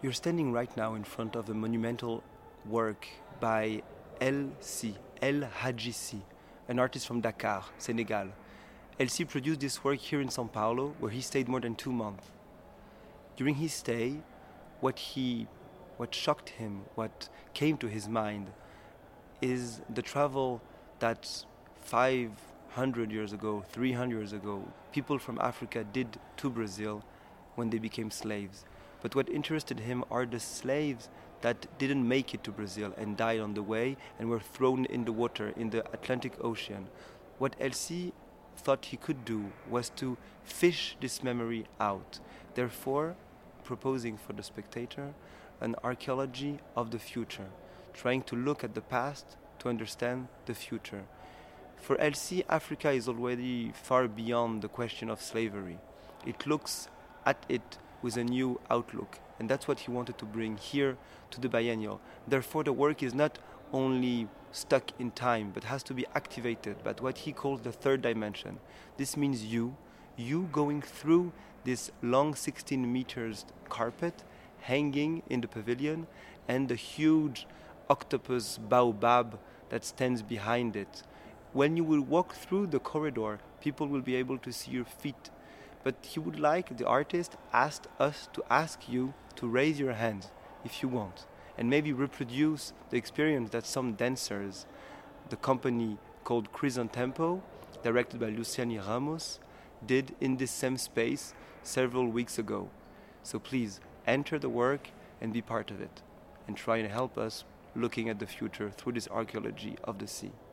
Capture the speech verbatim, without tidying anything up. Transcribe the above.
You're standing right now in front of a monumental work by El C, El Hadji C, an artist from Dakar, Senegal. El C produced this work here in São Paulo, where he stayed more than two months. During his stay, what he, what shocked him, what came to his mind, is the travel that five hundred years ago, three hundred years ago, people from Africa did to Brazil when they became slaves. But what interested him are the slaves that didn't make it to Brazil and died on the way and were thrown in the water in the Atlantic Ocean. What El C thought he could do was to fish this memory out, therefore proposing for the spectator an archaeology of the future, trying to look at the past to understand the future. For El C, Africa is already far beyond the question of slavery. It looks at it with a new outlook, and that's what he wanted to bring here to the biennial. Therefore, the work is not only stuck in time, but has to be activated by what he calls the third dimension. This means you, you going through this long sixteen meters carpet hanging in the pavilion, and the huge octopus baobab that stands behind it. When you will walk through the corridor, people will be able to see your feet. But he would like, the artist asked us to ask you to raise your hand if you want, and maybe reproduce the experience that some dancers, the company called Chrysantempo, directed by Luciani Ramos, did in this same space several weeks ago. So please, enter the work and be part of it, and try and help us looking at the future through this archaeology of the sea.